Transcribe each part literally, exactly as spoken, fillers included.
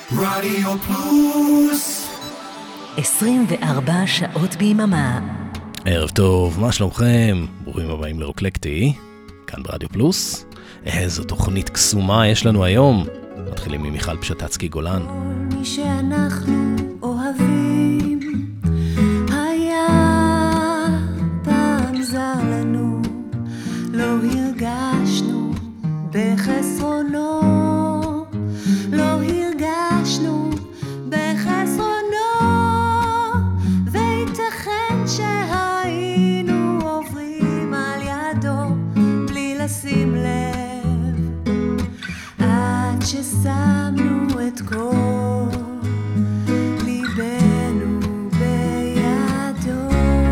רדיו פלוס עשרים וארבע שעות ביממה. ערב טוב, מה שלומכם? ברוכים הבאים לרוקלקטי, כאן ברדיו פלוס. איזו תוכנית קסומה יש לנו היום. מתחילים ממיכל פשטצקי גולן. כל מי שאנחנו אוהבים היה פעם זר לנו, לא הרגשנו בחסרונו, לא הרגשנו בחסרונו, וייתכן שהיינו עוברים על ידו בלי לשים לב, עד ששמנו את כל ליבנו בידו.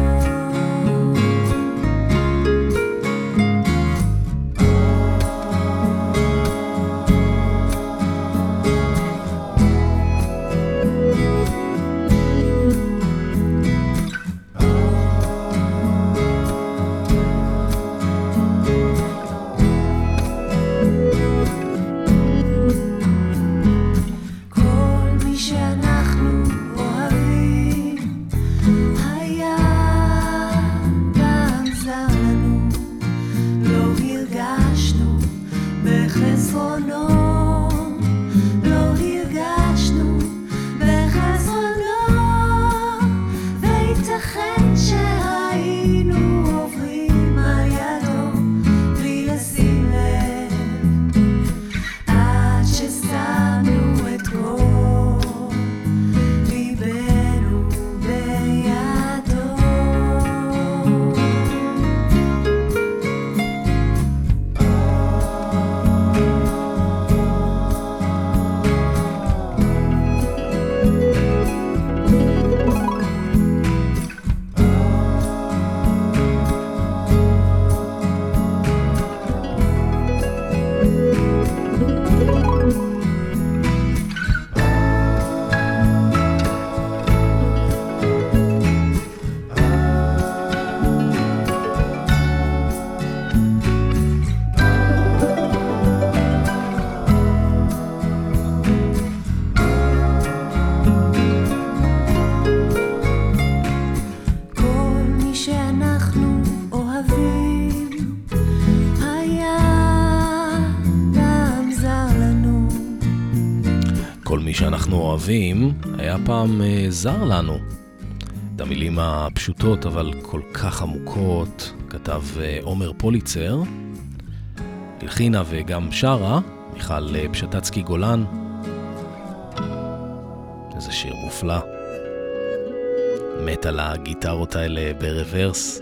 שאנחנו אוהבים היה פעם uh, זר לנו. את המילים הפשוטות אבל כל כך עמוקות כתב uh, עומר פוליצר, הלחינה וגם שרה מיכל uh, פשטצקי גולן. איזה שיר מופלא, מת על הגיטרות האלה ברוורס,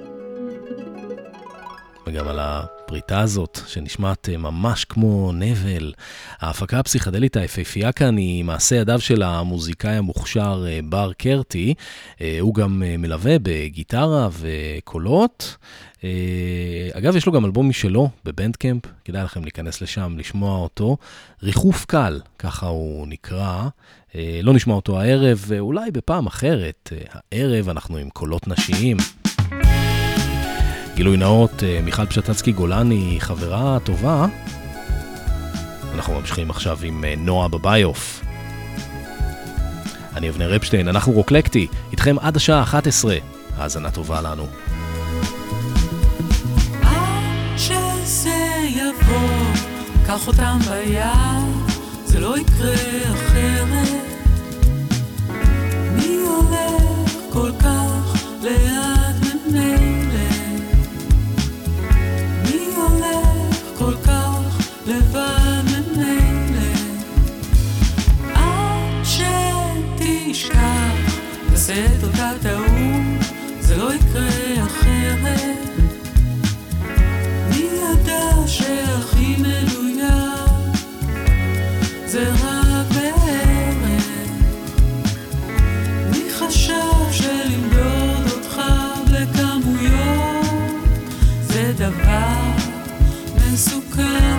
וגם על הפריטה הזאת שנשמעת ממש כמו נבל. ההפקה הפסיכדלית היפהפייה כאן היא מעשה ידיו של המוזיקאי המוכשר בר קרטי. הוא גם מלווה בגיטרה וקולות. אגב, יש לו גם אלבום משלו בבנדקמפ, כדאי לכם להיכנס לשם לשמוע אותו. ריחוף קל, ככה הוא נקרא. לא נשמע אותו הערב, ואולי בפעם אחרת. הערב אנחנו עם קולות נשיים. גילוי נאות, מיכל פשטצקי גולן היא חברה טובה. אנחנו ממשיכים עכשיו עם נועה בביוף. אני אבנר רפשטיין, אנחנו רוקלקטי, איתכם עד השעה אחת עשרה. האזנה טובה לנו. עד שזה יבוא, קח אותם ביד, זה לא יקרה אחרת. מי הולך כל כך ליד ממילא? כל כך לבד ממילא, עד שתשכח תעשה את אותה טעות, זה לא יקרה אחרת. מי ידע שהכי מדויק זה רק בערך? מי חשב שלמדוד אותך בכמויות זה דבר מסוכן?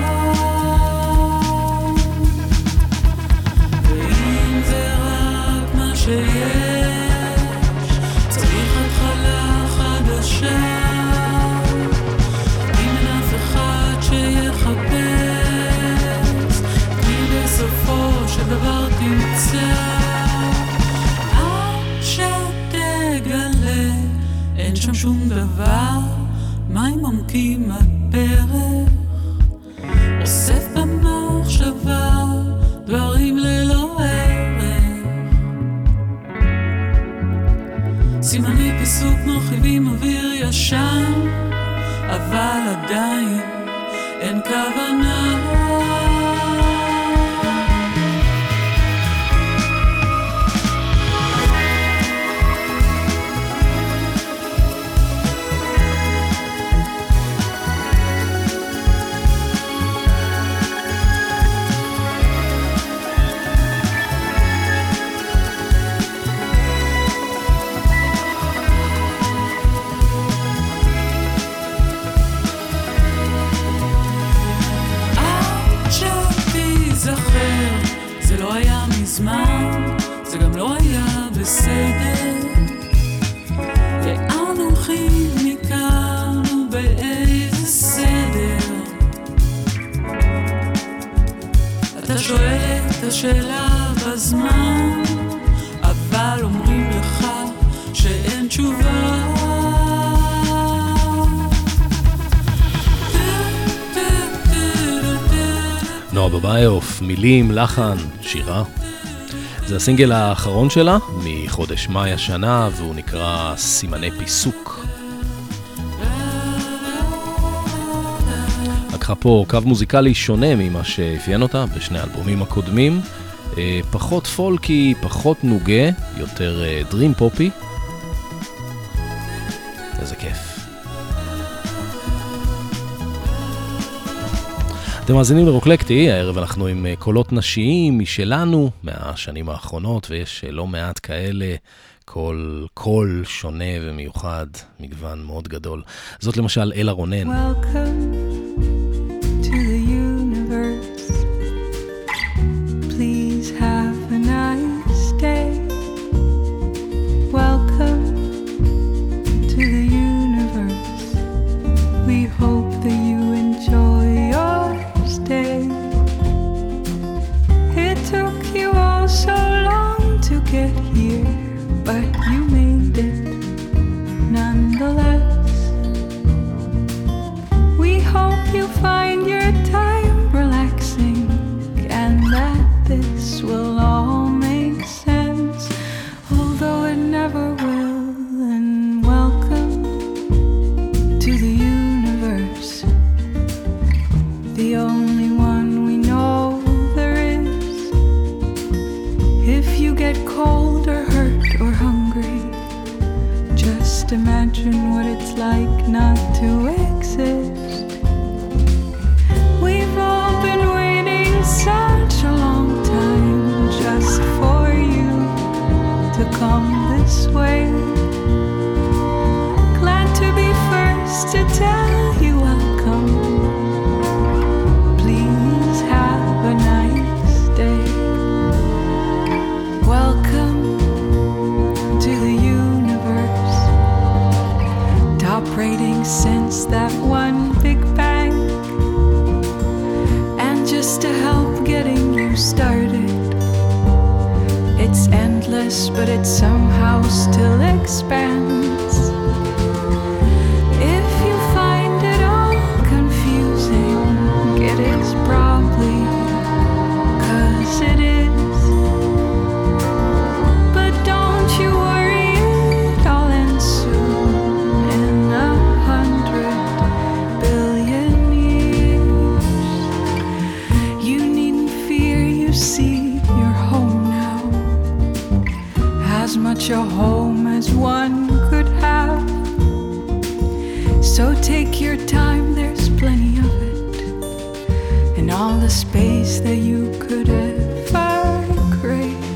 ואם זה רק מה שיש, צריך התחלה חדשה. אם אין אף אחד שיחפש, כי בסופו שם שום דבר, מים עמקים הפרח, אוסף במחשבה דברים ללא ערך. סימני פיסוק מרחיבים אוויר ישן, אבל עדיין אין כוונה. זה לא היה מזמן, זה גם לא היה בסדר. לאן הולכים מכאן ובאיזה סדר? אתה שואל את השאלה בזמן, אבל אומרים לך שאין תשובה. נועה בבייוף, מילים, לחן, שירה. זה הסינגל האחרון שלה מחודש מאי השנה, והוא נקרא סימני פיסוק. לקחה פה קו מוזיקלי שונה ממה שהפיין אותה בשני האלבומים הקודמים. פחות פולקי, פחות נוגה, יותר דרים פופי. איזה כיף. אתם מאזינים לרוקלקטי, הערב אנחנו עם קולות נשיים משלנו מהשנים האחרונות, ויש לא מעט כאלה, קול, קול שונה ומיוחד, מגוון מאוד גדול. זאת למשל אלה רונן. Welcome to the universe. Please have a nice day. Welcome to the universe. We hope that you enjoy your stay. It took you all so long to get here, but you made it nonetheless. We hope you find your time relaxing and that this will all make sense, although it never will. And welcome to the universe, the only one we know there is. If you get cold or hurt or hungry, just imagine what it's like not to exist. We've all been waiting such a long time just for you to come this way. Glad to be first to tell you welcome. Please have a nice day. Welcome to the universe. Top rating since that one big bang. And just to help getting you started, it's endless, but it somehow still expands. If you find it all confusing, it is probably 'cause it is. But don't you worry, it'll end soon in a hundred billion years. You needn't fear, you see, you're home now. As much a home as one could have. So take your time, there's plenty of it, and all the space that you could ever crave.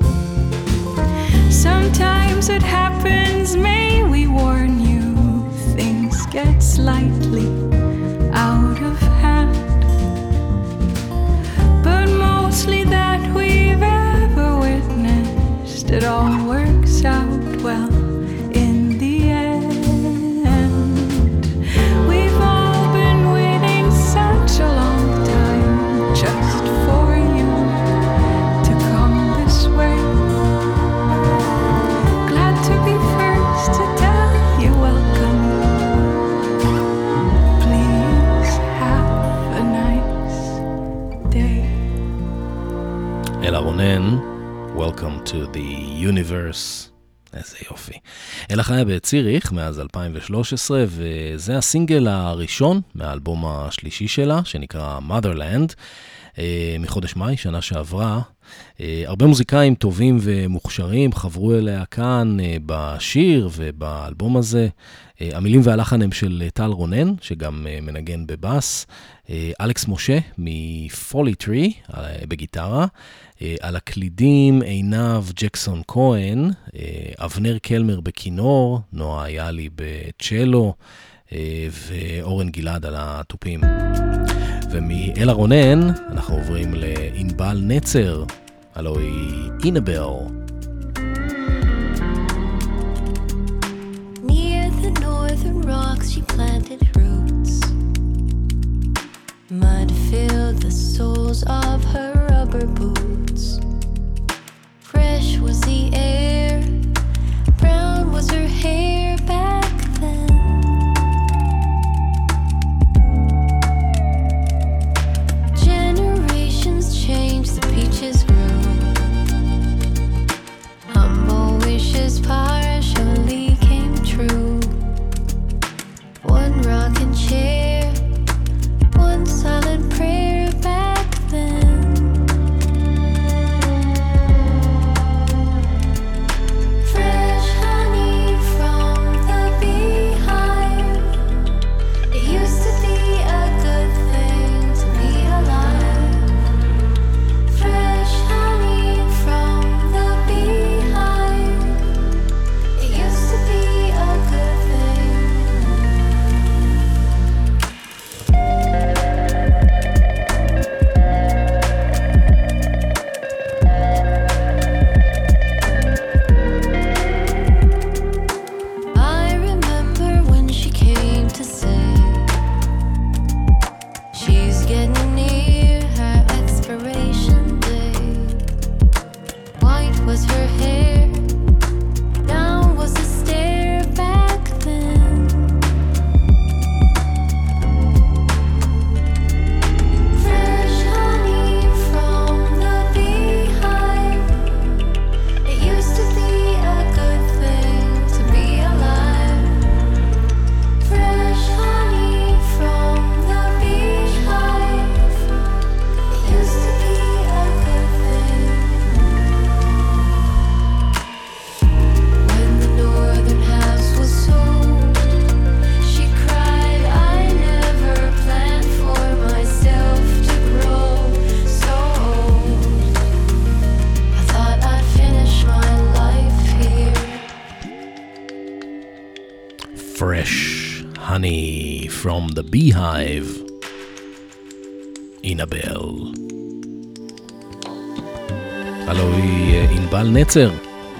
Sometimes it happens, may we warn you, things get slightly out of hand. But mostly that we've ever witnessed, it all works out well in the end. We've all been waiting such a long time just for you to come this way. Glad to be first to tell you welcome. אלה רונן, Welcome to the Universe. איזה יופי. אלה חיה בציריך מאז אלפיים ושלוש עשרה, וזה הסינגל הראשון מהאלבום השלישי שלה, שנקרא Motherland, מחודש מאי, שנה שעברה. הרבה מוזיקאים טובים ומוכשרים חברו אליה כאן בשיר ובאלבום הזה. המילים והלחן הם של טל רונן, שגם מנגן בבאס, אלכס משה מפולי טרי בגיטרה, על הקלידים עינב ג'קסון כהן, אבנר קלמר בכינור, נועה יאלי בצ'לו, ואורן גלעד על הטופים. ומאלה רונן אנחנו עוברים לאינבל נצר, הלוא היא אינבל. Near the northern rocks she planted roots. Mud filled the soles of her rubber boots. Fresh was the air, brown was her hair back then. Generations changed, the peaches grew. Humble wishes partially came true. One rocking chair, one silent prayer back then. Fresh honey from the beehive. It used to be a good thing to be alive. Fresh honey from the beehive. It used to be a good thing. I remember when she came to say she's getting near her expiration day. White was her hair, down was the stare back then. Fresh honey from the beehive. It used to be a good thing to be alive. Fresh honey from the beehive. It used to be a good thing. When the northern halves was sold, she cried, I never planned for myself to grow so old. I thought I'd finish my life here. Fresh honey from the beehive, אינבל. הלוא היא אינבל נצר.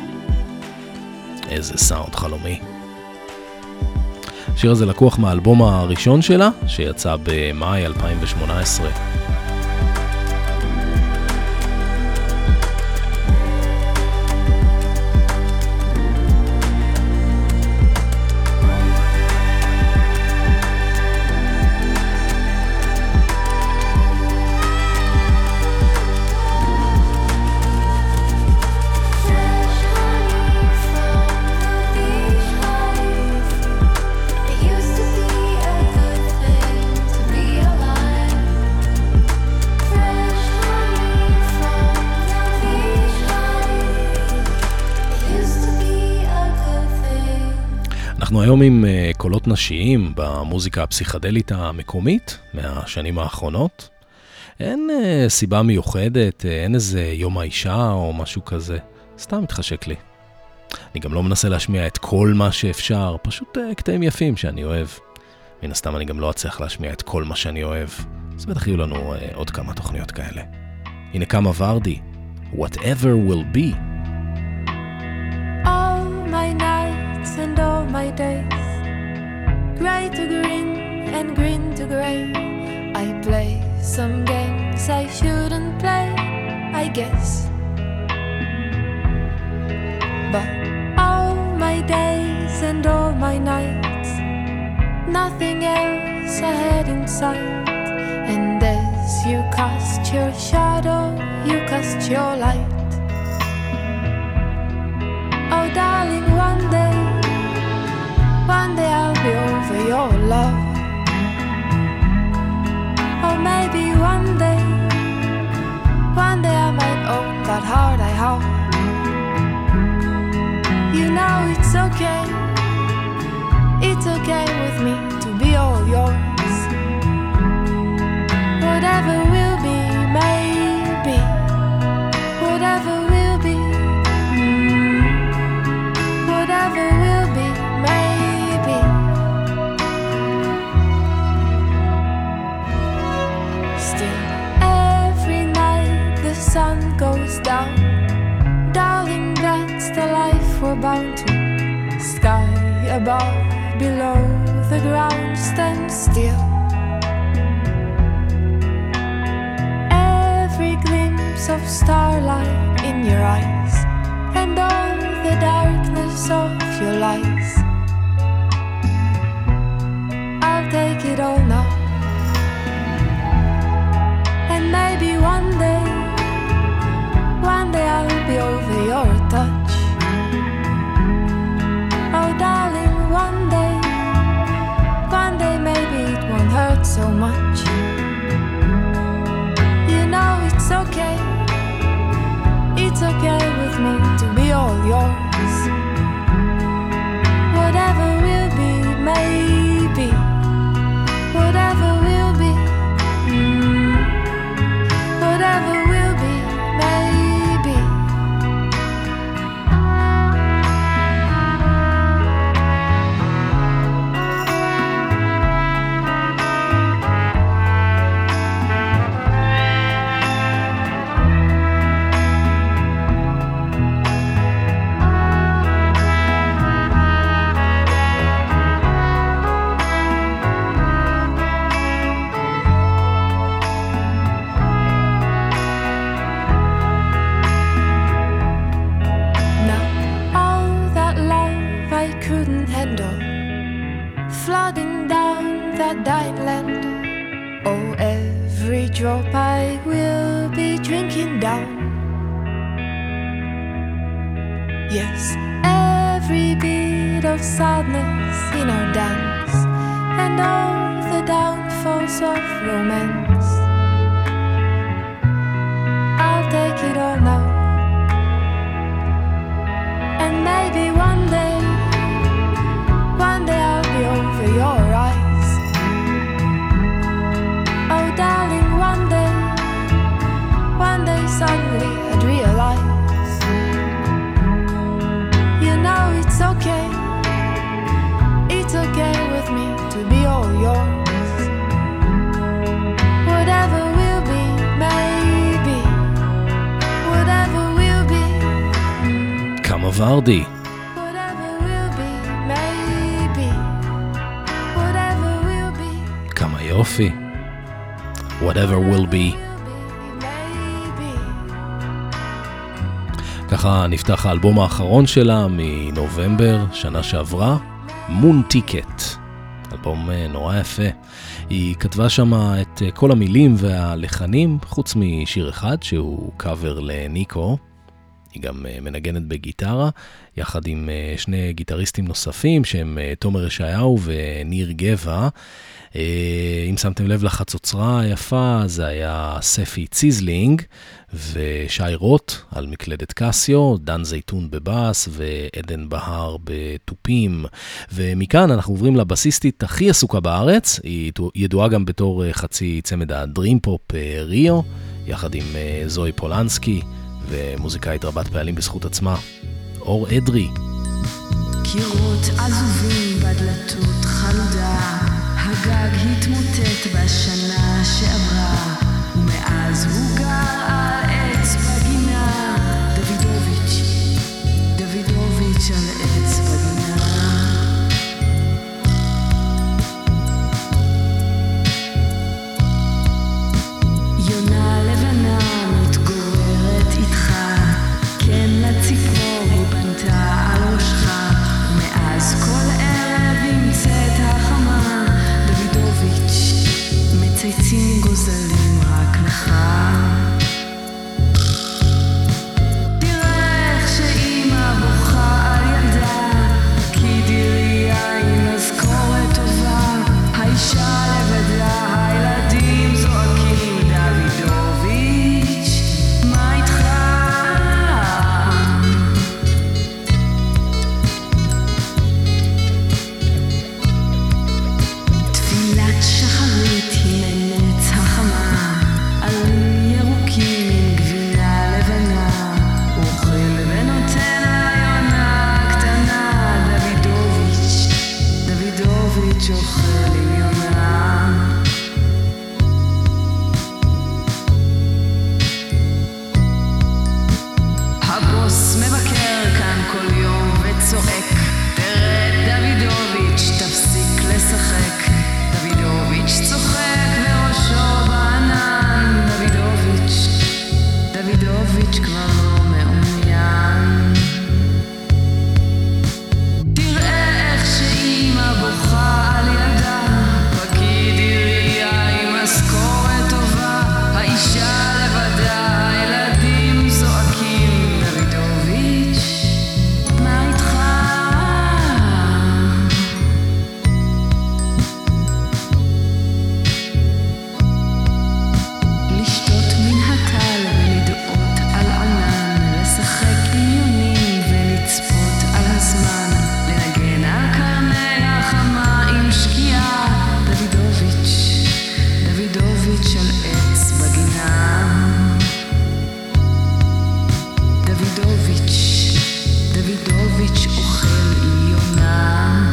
איזה סאונד חלומי. השיר הזה לקוח מהאלבום הראשון שלה, שיצא במאי אלפיים ושמונה עשרה. Fresh honey from the beehive. It used to be a good thing to be alive. Fresh honey from the beehive. It used to be a good thing. אנחנו היום עם uh, קולות נשיים במוזיקה הפסיכדלית המקומית מהשנים האחרונות. אין uh, סיבה מיוחדת, uh, אין איזה יום האישה או משהו כזה. סתם מתחשק לי. אני גם לא מנסה להשמיע את כל מה שאפשר, פשוט uh, קטעים יפים שאני אוהב. מן הסתם אני גם לא אצליח להשמיע את כל מה שאני אוהב. אז בטח יהיו לנו uh, עוד כמה תוכניות כאלה. הנה כמה ורדי, Whatever Will Be. All my nights and all my days, gray to green and green to gray. I play some games I shouldn't play, I guess. But all my days and all my nights, nothing else ahead in sight. And as you cast your shadow, you cast test your light. Oh darling, one day, one day I'll be over your love. Or maybe one day, one day I might own that heart I have. You know it's okay, it's okay with me to be all yours. Whatever will be, maybe. Whatever will be, mm. Whatever will be, maybe. Still, every night the sun goes down. Darling, that's the life we're bound to. Sky above, below, the ground stands still. Every glimpse of starlight in your eyes, and all the darkness of your lies. I'll take it all now. And maybe one day, one day I'll be over your touch. Oh darling, one day, one day maybe it won't hurt so much. You know it's okay, it's okay with me to be all yours. Whatever will be, maybe. Whatever will be, mm. Whatever will be, maybe. Flooding down that dying land. Oh, every drop I will be drinking down. Yes, every bit of sadness in our dance, and all the downfalls of romance. I'll take it all now. And maybe one day, one day I'll be over your eyes. Oh darling, one day, one day suddenly I'd realize. You know it's okay, it's okay with me to be all yours. Whatever will be, maybe. Whatever will be. כמה ורדי. כמה יופי. Whatever will be. ככה נפתח האלבום האחרון שלה מנובמבר שנה שעברה, מון טיקט. אלבום נורא יפה. היא כתבה שם את כל המילים והלחנים, חוץ משיר אחד שהוא קאבר לניקו. היא גם מנגנת בגיטרה, יחד עם שני גיטריסטים נוספים שהם תומר ישעיהו וניר גבע. אם שמתם לב לחצוצרה היפה, זה היה ספי ציזלינג ושי רוט על מקלדת קסיו, דן זייתון בבאס ועדן בהר בטופים. ומכאן אנחנו עוברים לבסיסטית הכי עסוקה בארץ, היא ידועה גם בתור חצי צמד הדרים פופ ריו, יחד עם זוהי פולנסקי ומוזיקאית רבת פעלים בזכות עצמה, אור אדרי. קירות עזובים בדלתות חלודה, הגג התמוטט בשנה שעברה, ומאז הוא גר על עץ בגינה. דוידוביץ', דוידוביץ' על עץ בגינה. יונה לבנה מתגוררת איתך, כן לציפור היא בנתה על ראשך, ומאז כל ערב ימצאת החמה. דוידוביץ' מצייצים גוזלים רק לך. צועק, תרד דוידוביץ', תפסיק לשחק. דוידוביץ' צוחק וראשו בענן. דוידוביץ', דוידוביץ' כבר לא מעוניין. תראה איך שאמא בוכה על ילדה, פקיד עירייה עם משכורת טובה, האישה לבדה, הילדים זועקים. דוידוביץ', מה איתך? לשתות מן הטל ולדעות על ענן, לשחק עניונים ולצפות על הזמן, לנגן על קרני החמה עם שקיעה. דוידוביץ', דוידוביץ' על עץ בגינה. דוידוביץ', דוידוביץ' אוכל עליונה.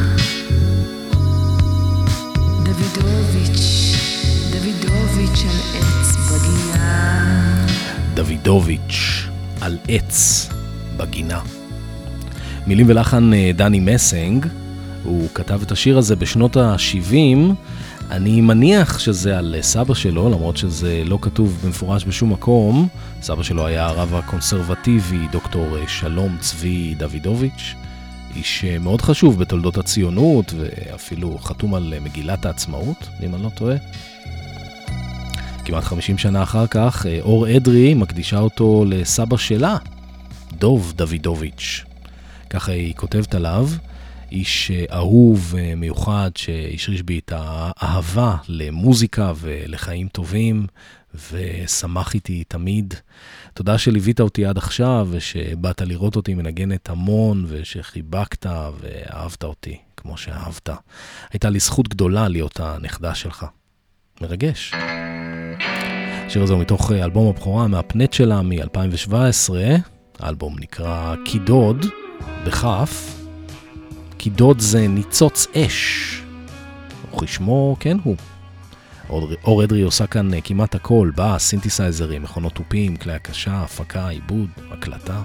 דוידוביץ', דוידוביץ' על עץ בגינה. דוידוביץ' על עץ בגינה. מילים ולחן דני מסנג, הוא כתב את השיר הזה בשנות ה-שבעים, אני מניח שזה על סבא שלו, למרות שזה לא כתוב במפורש בשום מקום. סבא שלו היה הרב הקונסרבטיבי דוקטור שלום צבי דוידוביץ', איש מאוד חשוב בתולדות הציונות, ואפילו חתום על מגילת העצמאות, אם אני לא טועה. כמעט חמישים שנה אחר כך, אור אדרי מקדישה אותו לסבא שלה, דוב דוידוביץ'. ככה היא כותבת עליו, איש אהוב מיוחד שהשריש בי את האהבה למוזיקה ולחיים טובים, ושמח איתי תמיד. תודה שליווית אותי עד עכשיו, ושבאת לראות אותי מנגנת המון, ושחיבקת ואהבת אותי כמו שאהבת. הייתה לי זכות גדולה להיות הנכדה שלך. מרגש. השיר הזה הוא מתוך אלבום הבכורה מהפנט שלה מ-אלפיים שבע עשרה. האלבום נקרא קידוד, בכף. קידוד זה ניצוץ אש. וכשמו כן הוא. אור אדרי עושה כאן כמעט הכל, בא, סינתסייזרים, מכונות טופים, כלי הקשה, הפקה, עיבוד, הקלטה.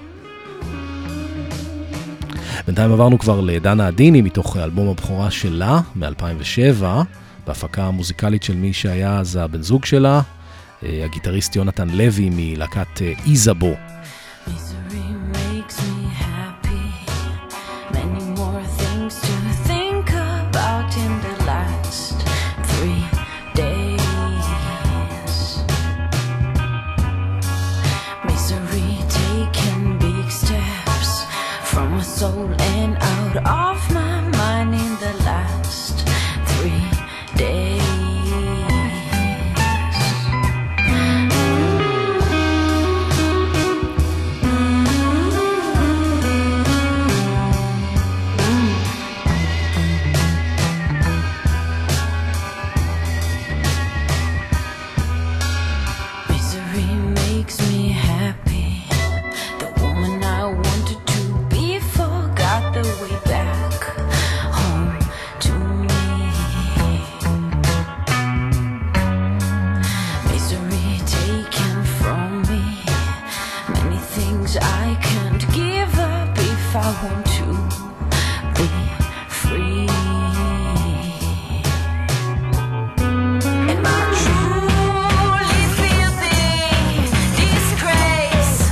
בינתיים עברנו כבר לדנה עדיני מתוך אלבום הבכורה שלה מ-אלפיים ושבע, בהפקה המוזיקלית של מי שהיה אז הבן זוג שלה, הגיטריסט יונתן לוי מלהקת איזבו. Soul and out of my mind in the last three days. Misery makes me happy. The woman I wanted to be forgot the way back home to me. Misery taken from me. Many things I can't give up if I want to be free. And I truly feel the disgrace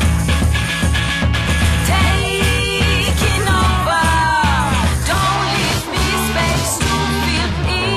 taking over. Don't leave me space to feel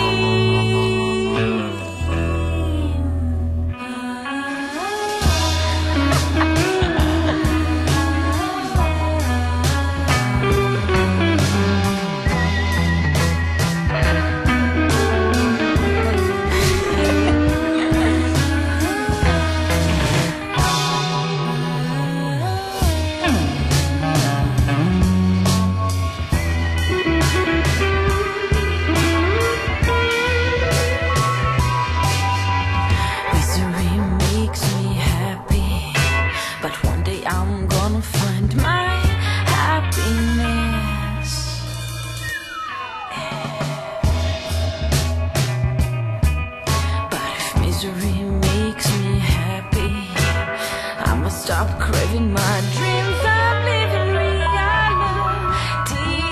misery makes me happy, but one day I'm gonna find my happiness. But if misery makes me happy, I'ma stop craving my dreams. I'm living reality.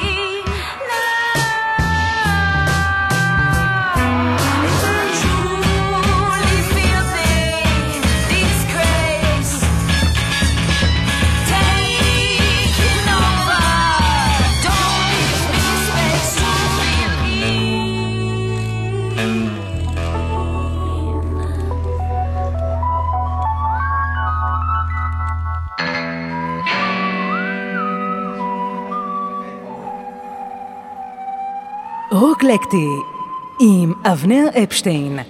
רוקלקטי עם אבנר אפשטיין.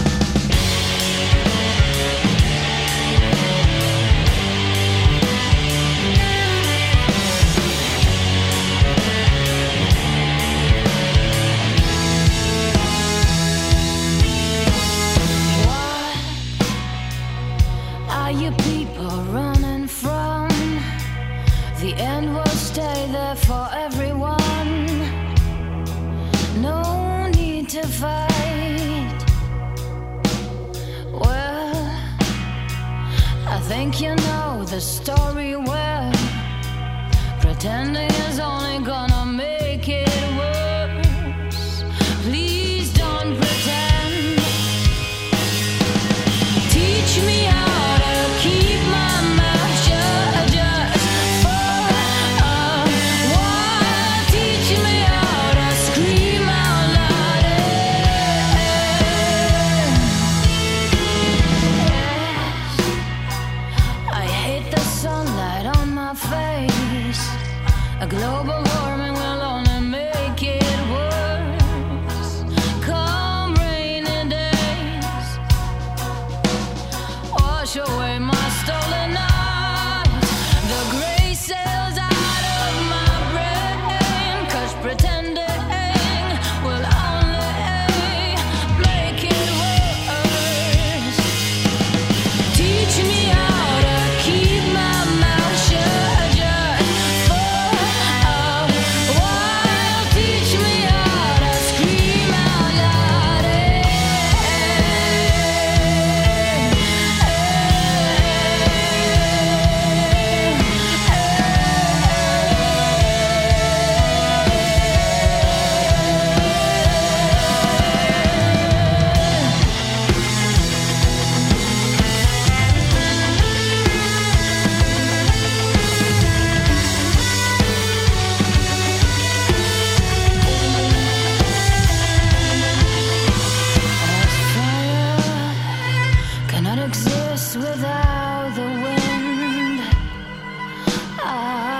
Think you know the story well. Pretending is only gonna make it worse. Please don't pretend. Teach me how to keep my mouth shut just for a while. Teach me how to scream out loud. Sunlight on my face. A global warming will only make it worse. Come rainy days, wash away my stolen nights. The gray sails out of my brain, 'cause pretending will only make it worse. Teach me how to keep my mouth shut just for a while. Teach me how to scream out loud. Cannot exist without the wind. I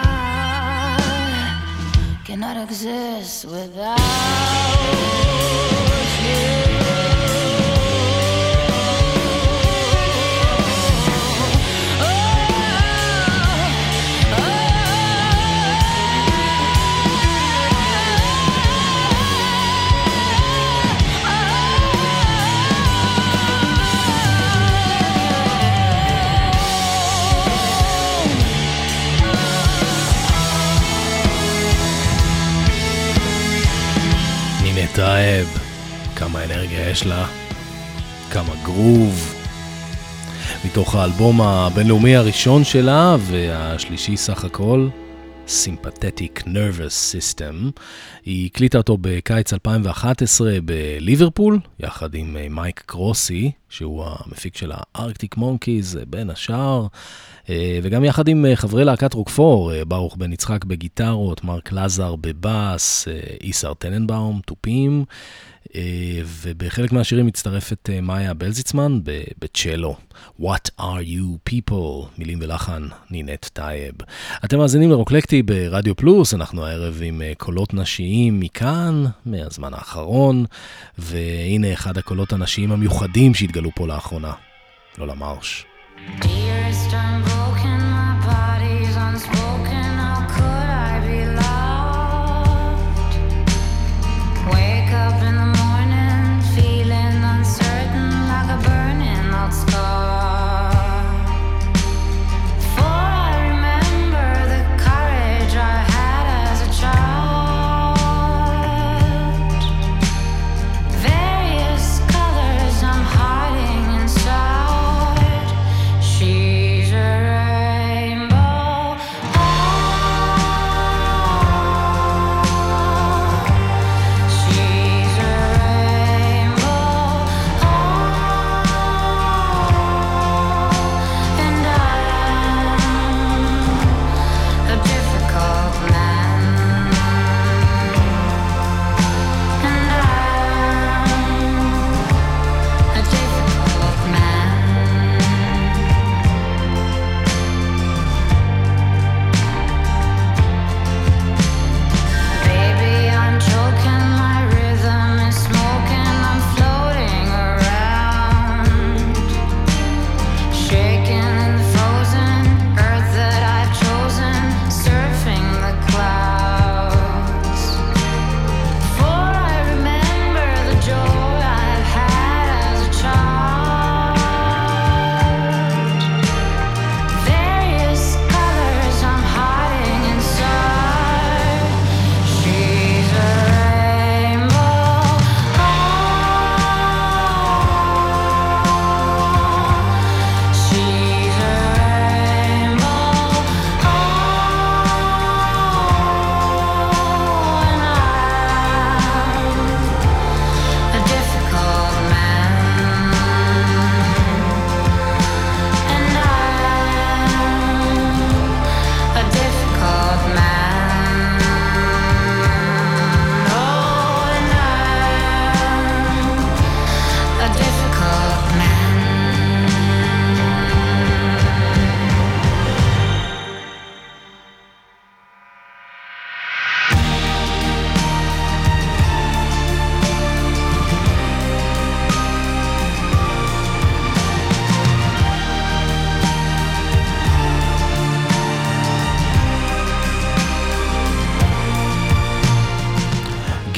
cannot exist without you. טייב, כמה אנרגיה יש לה, כמה גרוב. מתוך האלבום הבינלאומי הראשון שלה והשלישי סך הכל, Sympathetic Nervous System. היא הקליטה אותו בקיץ אלפיים ואחת עשרה בליברפול, יחד עם מייק קרוסי, שהוא המפיק של הארקטיק מונקיז בין השאר, וגם יחד עם חברי להקת רוקפור, ברוך בן יצחק בגיטרות, מרק לזר בבאס, איסר טננבאום, טופים, ובחלק מהשירים מצטרפת מאיה בלזיצמן בצ'לו. What are you people? מילים ולחן נינת טייב. אתם מאזינים לרוקלקטי ברדיו פלוס, אנחנו הערב עם קולות נשיים מכאן, מהזמן האחרון, והנה אחד הקולות הנשיים המיוחדים שהתגלו פה לאחרונה. לא למרש. Dearest, I'm broken, my body's unspoken. How could I be loved? Wake up in the morning, feeling uncertain, like a burning old scar. For I remember the courage I had as a child. Various colors I'm hiding inside. She's a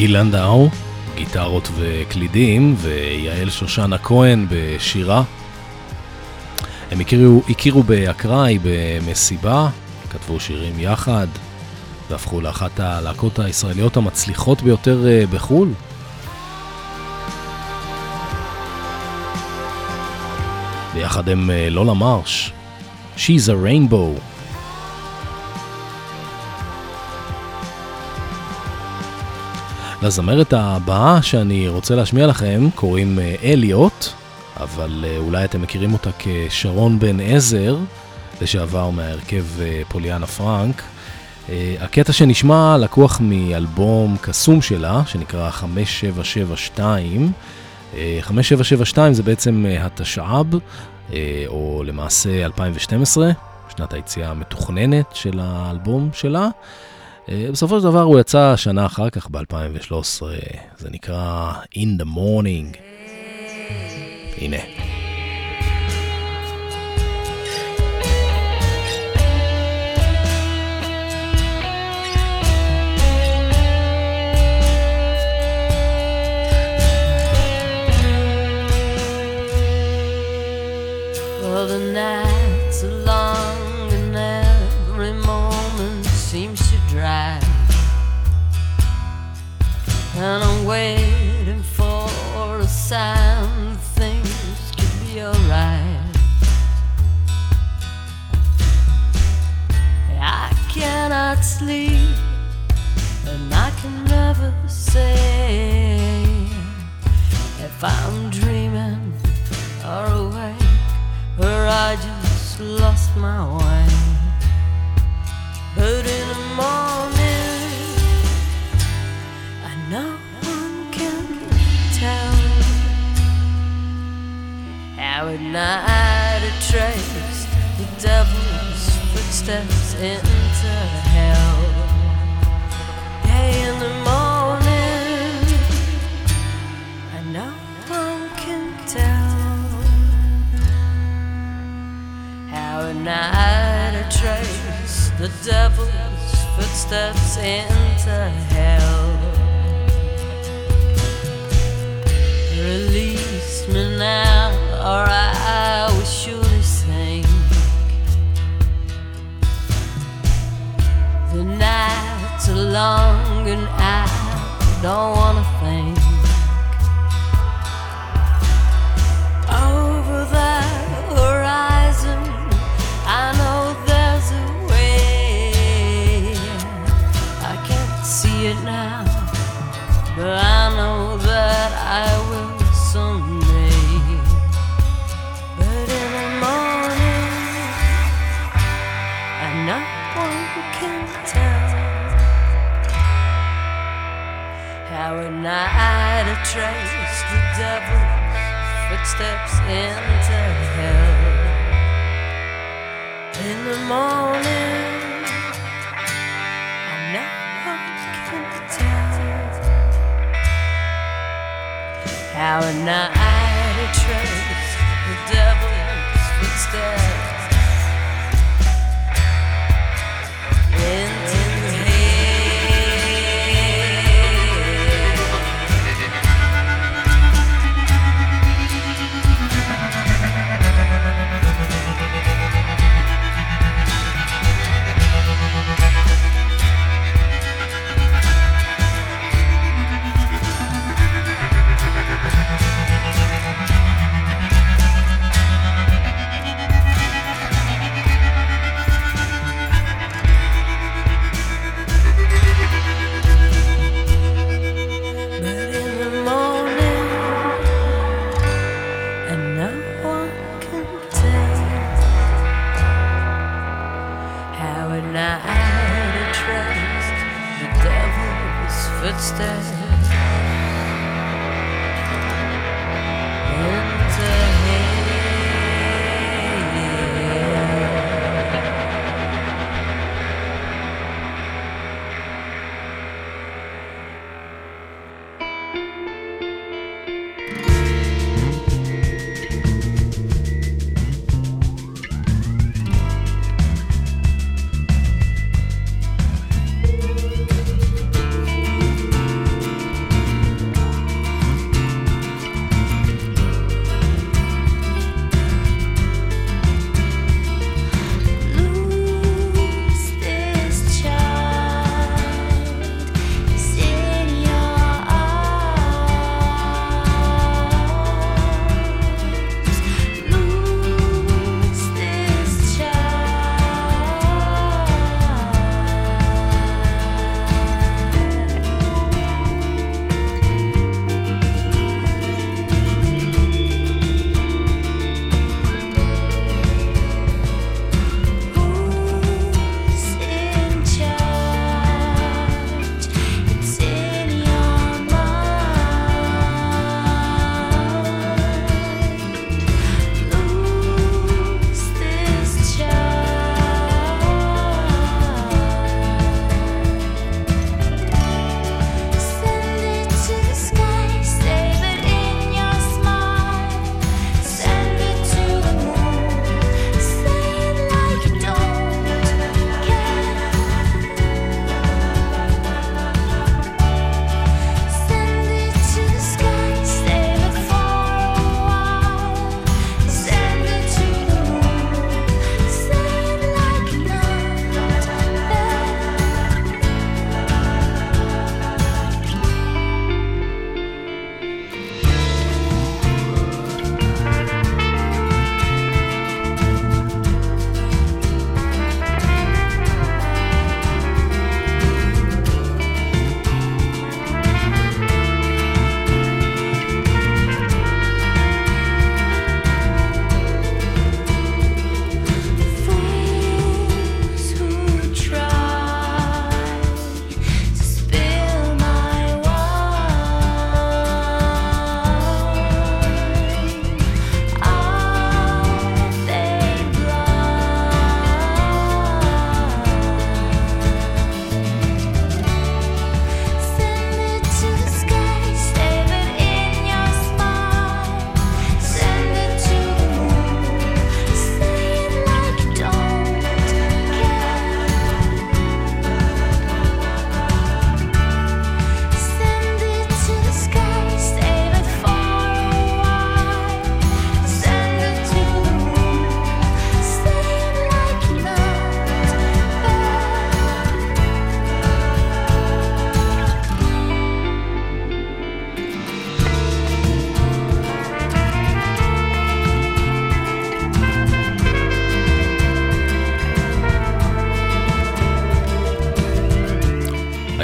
גיל לנדאו, גיטרות וקלידים, ויעל שושנה כהן בשירה. הם הכירו, הכירו באקראי במסיבה, כתבו שירים יחד, והפכו לאחת הלהקות הישראליות המצליחות ביותר בחול. ביחד הם לולה מרש, She's a Rainbow. לזמרת הבאה שאני רוצה להשמיע לכם קוראים אליוט, אבל אולי אתם מכירים אותה כשרון בן עזר, לשעבר מהרכב פוליאנה פרנק. הקטע שנשמע לקוח מאלבום קסום שלה, שנקרא חמש שבע שבע שתיים. חמש שבע שבע שתיים זה בעצם התשע"ב, או למעשה אלפיים ושתים עשרה, שנת היציאה המתוכננת של האלבום שלה. בסופו של דבר הוא יצא שנה אחר כך ב-אלפיים ושלוש עשרה, זה נקרא In the Morning. הנה. Well, the nights are long and every moment seems to drag, and I'm waiting for a sign that things could be alright. I cannot sleep and I can never say if I'm dreaming or awake, or I just lost my way. But in the morning, I know one can tell how at night I trace the devil's footsteps into hell. Hey, in the morning, I know one can tell how at night I trace the devil's footsteps into hell. Release me now, or I will surely sink. The nights are long and I don't wanna think. Over the horizon, I know there's a way. I can't see it now, but I know that I will someday. But in the morning, I know one can tell how at night I trace the devil's footsteps into hell. In the morning, I know one can tell how at night I trace the devil's footsteps into footsteps into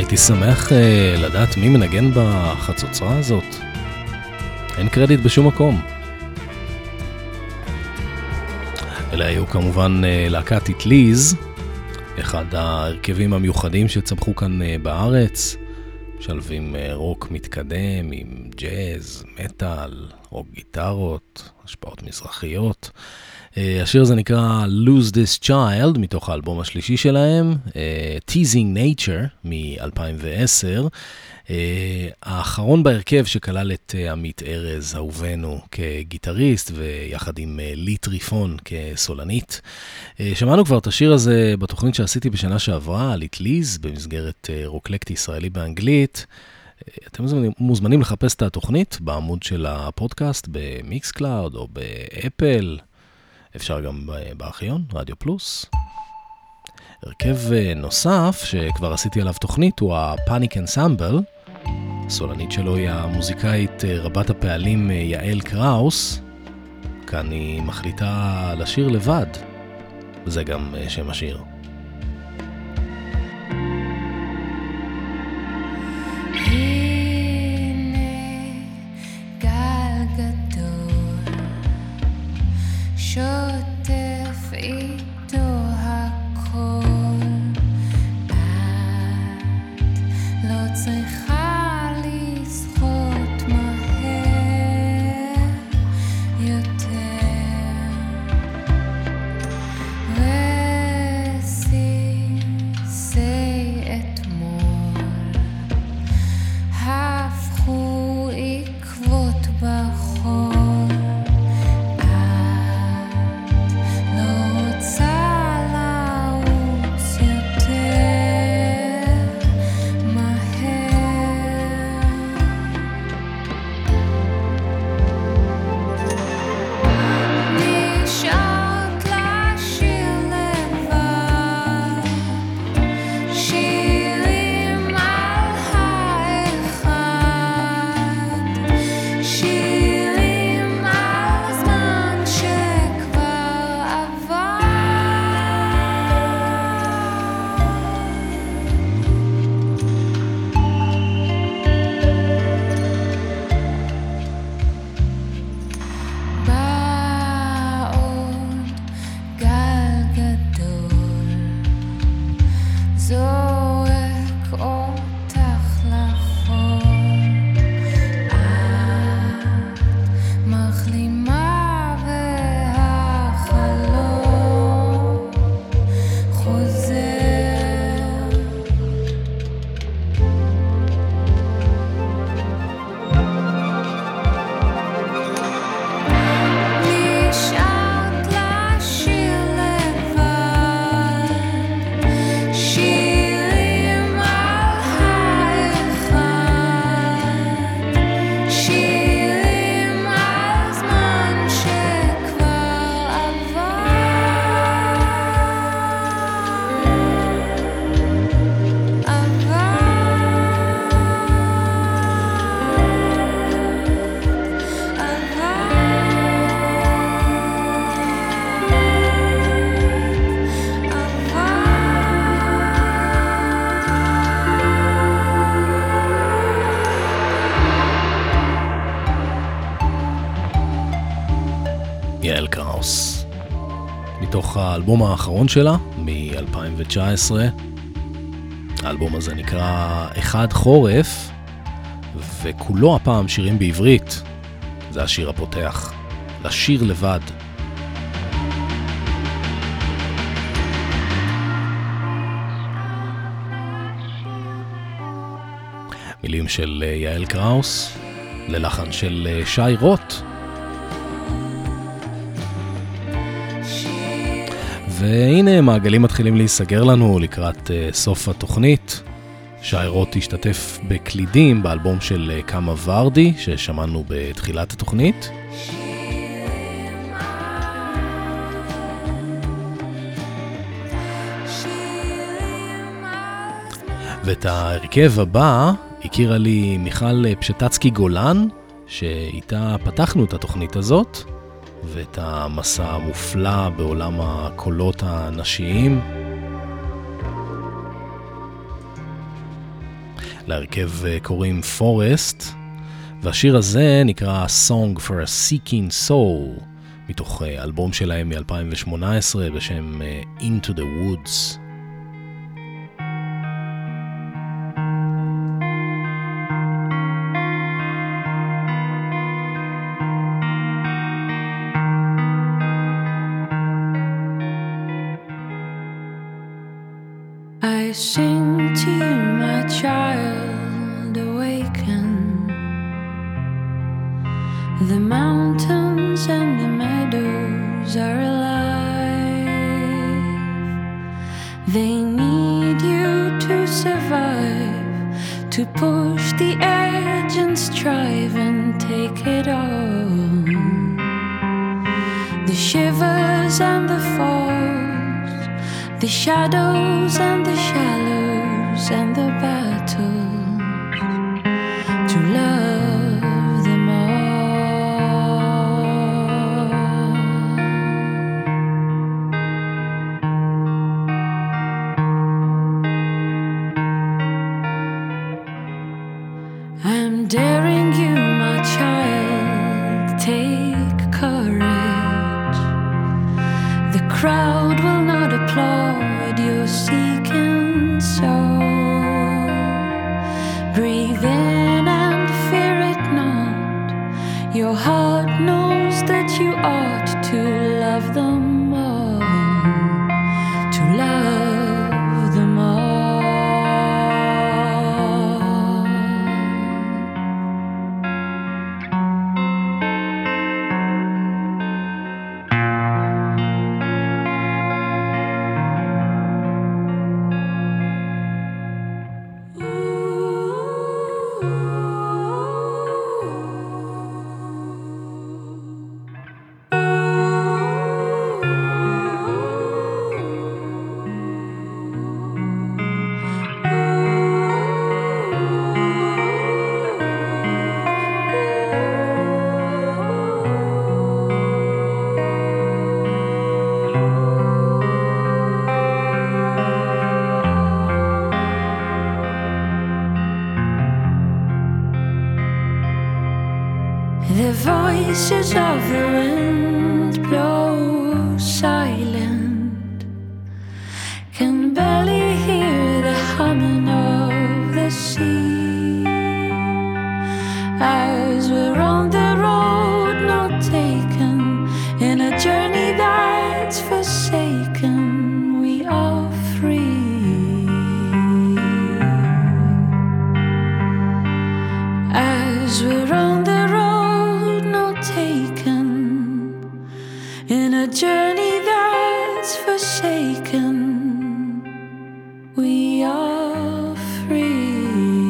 הייתי שמח uh, לדעת מי מנגן בחצוצרה הזאת. אין קרדיט בשום מקום. אלה היו כמובן uh, להקת איטליז, אחד ההרכבים המיוחדים שצמחו כאן uh, בארץ, משלבים uh, רוק מתקדם עם ג'אז, מטל, רוק גיטרות, השפעות מזרחיות. Uh, השיר הזה נקרא Lose This Child, מתוך האלבום השלישי שלהם, uh, Teasing Nature מ-אלפיים ועשר, uh, האחרון בהרכב שכלל את uh, עמית ארז, אהובנו, כגיטריסט, ויחד עם uh, לי טריפון כסולנית. Uh, שמענו כבר את השיר הזה בתוכנית שעשיתי בשנה שעברה, על איטליז, במסגרת uh, רוקלקט ישראלי באנגלית. Uh, אתם מוזמנים לחפש את התוכנית בעמוד של הפודקאסט, במיקס קלאוד או באפל, אפשר גם בארכיון, רדיו פלוס. הרכב נוסף שכבר עשיתי עליו תוכנית הוא הפאניק אנסמבל. הסולנית שלו היא המוזיקאית רבת הפעלים יעל קראוס. כאן היא מחליטה לשיר לבד, וזה גם שם השיר. שוטף איתו הכל, את לא צריכה לשחות מהר יותר, רסיסי אתמול הפכו עקבות בחול, יעל קראוס, מתוך האלבום האחרון שלה מ-אלפיים תשע עשרה. האלבום הזה נקרא אחד חורף, וכולו הפעם שירים בעברית. זה השיר הפותח, לשיר לבד. מילים של יעל קראוס, ללחן של שי רוט. והנה מעגלים מתחילים להיסגר לנו לקראת uh, סוף התוכנית. שי רוט השתתף בקלידים באלבום של uh, קמה ורדי ששמענו בתחילת התוכנית. ואת ההרכב הבא הכירה לי מיכל פשטצקי גולן, שאיתה פתחנו את התוכנית הזאת, ואת המסע המופלא בעולם הקולות הנשיים. להרכב קוראים פורסט, והשיר הזה נקרא Song for a Seeking Soul, מתוך אלבום שלהם מ-אלפיים שמונה עשרה בשם Into the Woods. I sing to you, my child, awaken. The mountains and the meadows are alive. They need you to survive, to push the edge and strive and take it all. The shivers and the falls, the shadows and the shallows and the battles, to love them all. I'm daring you, my child, take courage. The crowd will not applaud your seeking soul. Breathe in and fear it not. Your heart knows that you ought to love them all, to love them all. The voices of the wind blow silent, can barely hear the humming of the sea. As we're on the road not taken, in a journey that's forsaken, we are free. As we're on the in a journey that's forsaken, we are free.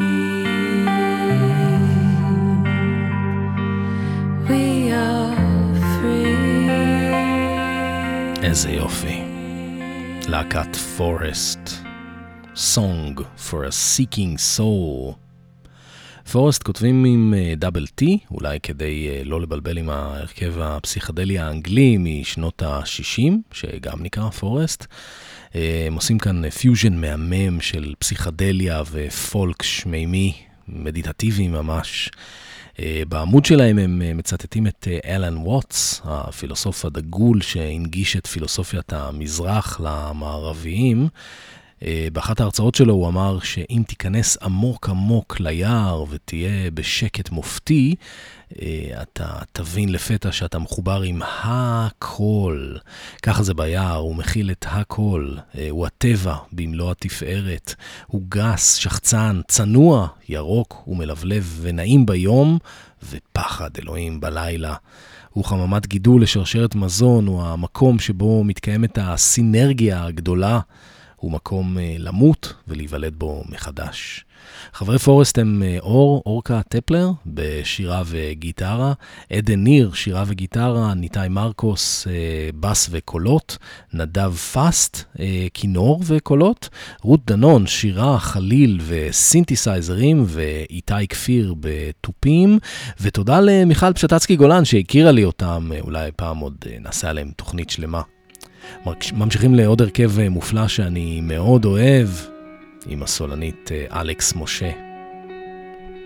We are free. איזה יופי. להקת פורסט. Song for a Seeking Soul. פורסט כותבים עם דאבל טי, אולי כדי לא לבלבל עם ההרכב הפסיכדלי האנגלי משנות ה-שישים, שגם נקרא פורסט. הם עושים כאן פיוז'ן מהמם של פסיכדליה ופולק שמימי, מדיטטיבי ממש. בעמוד שלהם הם מצטטים את אלן ווטס, הפילוסוף הדגול שהנגיש את פילוסופיית המזרח למערביים. באחת ההרצאות שלו הוא אמר שאם תיכנס עמוק עמוק ליער ותהיה בשקט מופתי, אתה תבין לפתע שאתה מחובר עם הכל. ככה זה ביער, הוא מכיל את הכל. הוא הטבע במלוא התפארת. הוא גס, שחצן, צנוע, ירוק ומלבלב ונעים ביום ופחד אלוהים בלילה. הוא חממת גידול לשרשרת מזון, הוא המקום שבו מתקיימת הסינרגיה הגדולה. הוא מקום למות ולהיוולד בו מחדש. חברי פורסט הם אור, אורקה טפלר בשירה וגיטרה, עדן ניר, שירה וגיטרה, ניתאי מרקוס, בס וקולות, נדב פסט, כינור וקולות, רות דנון, שירה, חליל וסינתסייזרים, ואיתי כפיר בטופים, ותודה למיכל פשטצקי גולן שהכירה לי אותם, אולי פעם עוד נעשה עליהם תוכנית שלמה. ממשיכים לעוד הרכב מופלא שאני מאוד אוהב, עם הסולנית אלכס משה.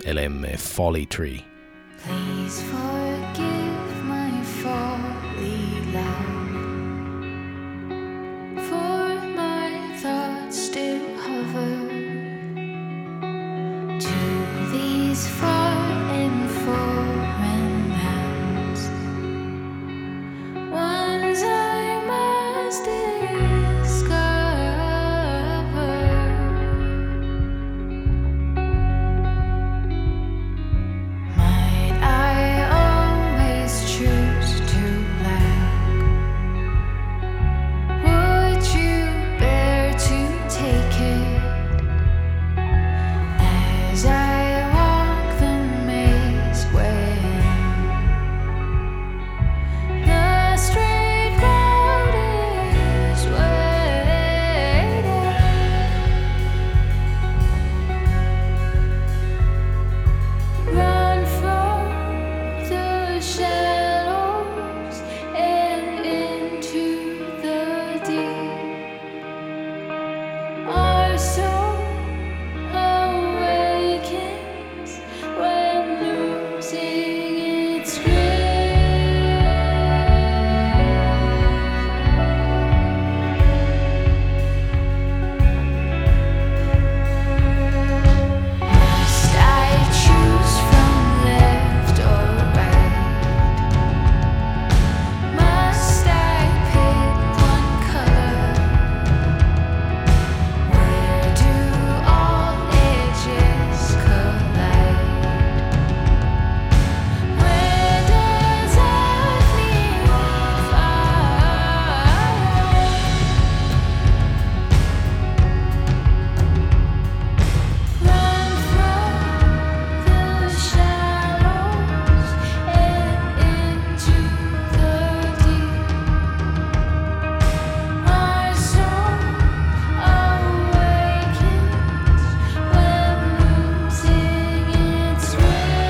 אלה הם Folly Tree. Please forgive my folly, love, for my thoughts still hover to these far and foreign lands, ones I must discover. Might I always choose to lack? Would you bear to take it as I walk the maze when the straight road is waiting? Run from the shadows and into the deep. Our soul awakens when losing its Must I choose from left or right? Must I pick one color? Where do all edges collide? Where does acne fire? Run from the shadows and into the deep. Our soul awakens when losing its way.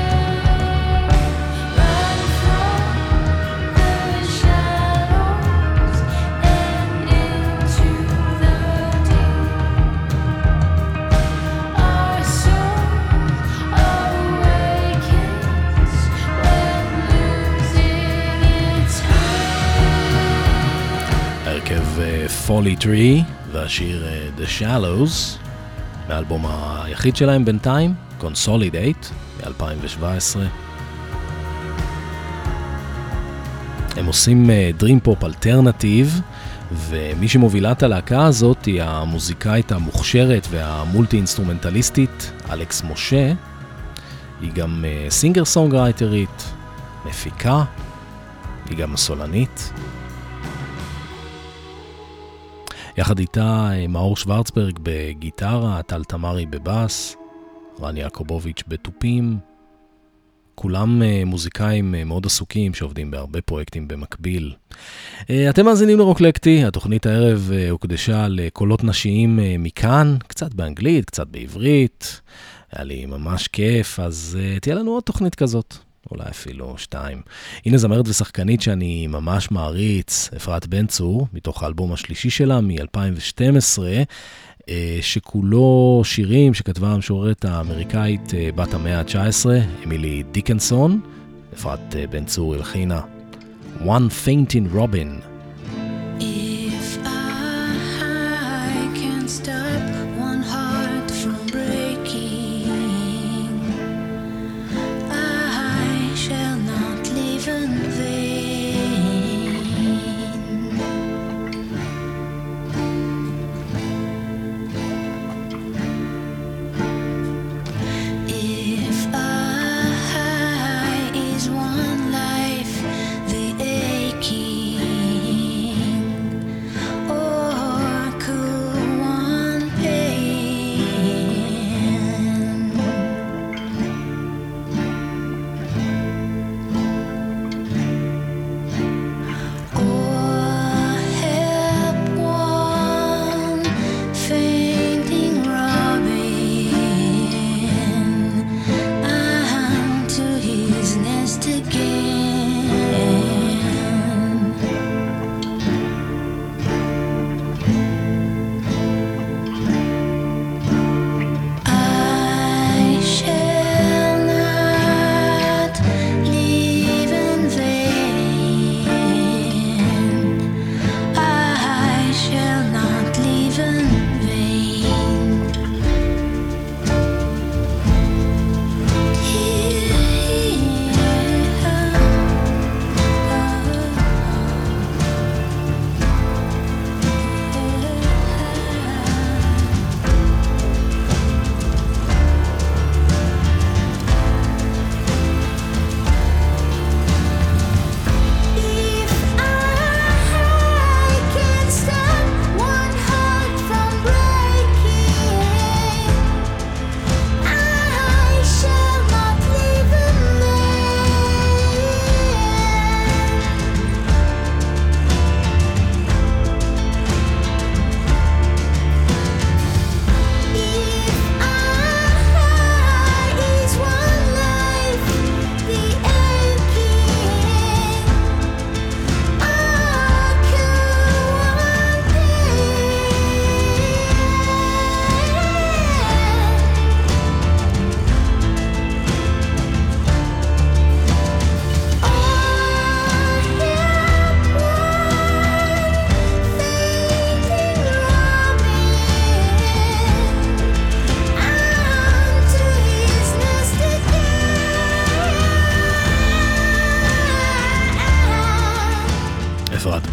Run from the shadows and into the deep. Our soul awakens when losing its way. הרכב אה, Folly Tree והשיר אה, The Shallows מהאלבום היחיד שלהם בינתיים, Consolidate מ-אלפיים שבע עשרה. הם עושים אה, Dream Pop אלטרנטיב, ומי שמובילה את הלהקה הזאת היא המוזיקאית המוכשרת והמולטי אינסטרומנטליסטית אלכס משה. היא גם אה, סינגר סונגרייטרית, מפיקה, היא גם סולנית. יחד איתה מאור שוורצברג בגיטרה, טל תמרי בבאס, רן יעקובוביץ' בתופים. כולם מוזיקאים מאוד עסוקים שעובדים בהרבה פרויקטים במקביל. אתם מאזינים לרוקלקטי, התוכנית הערב הוקדשה לקולות נשיים מכאן, קצת באנגלית, קצת בעברית. היה לי ממש כיף, אז תהיה לנו עוד תוכנית כזאת. אולי אפילו שתיים. הנה זמרת ושחקנית שאני ממש מעריץ, אפרת בן צור, מתוך האלבום השלישי שלה מ-אלפיים ושתים עשרה, שכולו שירים שכתבה המשוררת האמריקאית בת המאה ה-תשע עשרה, אמילי דיקנסון. אפרת בן צור הלחינה One Fainting Robin. If I can stop one heart from breaking, I shall not live in vain. If I is one life, the aching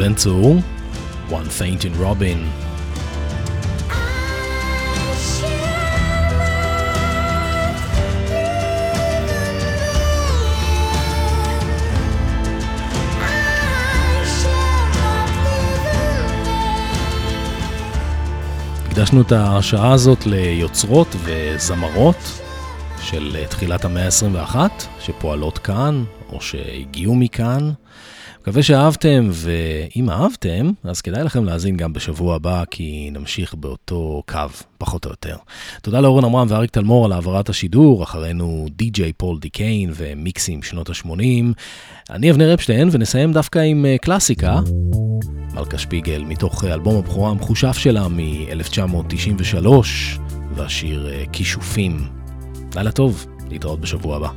בן צור, One Faint in Robin. הקדשנו את השעה הזאת ליוצרות וזמרות של תחילת המאה ה-עשרים ואחת שפועלות כאן או שהגיעו מכאן. מקווה שאהבתם, ואם אהבתם אז כדאי לכם להאזין גם בשבוע הבא, כי נמשיך באותו קו פחות או יותר. תודה לאורן עמרם ואריק תלמור על העברת השידור. אחרינו די-ג'יי פול דיקיין ומיקסים שנות ה-שמונים. אני אבנר אפשטיין, ונסיים דווקא עם קלאסיקה, מלכה שפיגל, מתוך אלבום הבכורה המחושף שלה מ-אלף תשע מאות תשעים ושלוש, והשיר כישופים. לילה טוב, להתראות בשבוע הבא.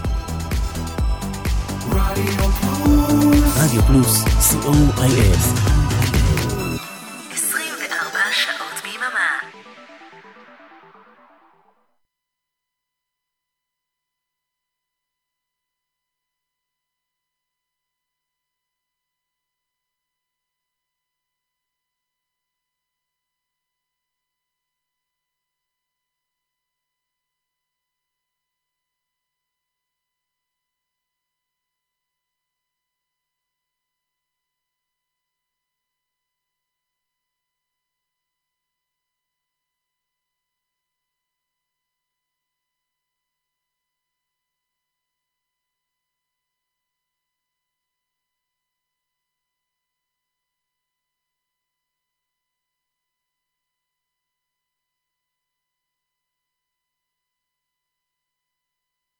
רדיו פלוס, סי או איי אס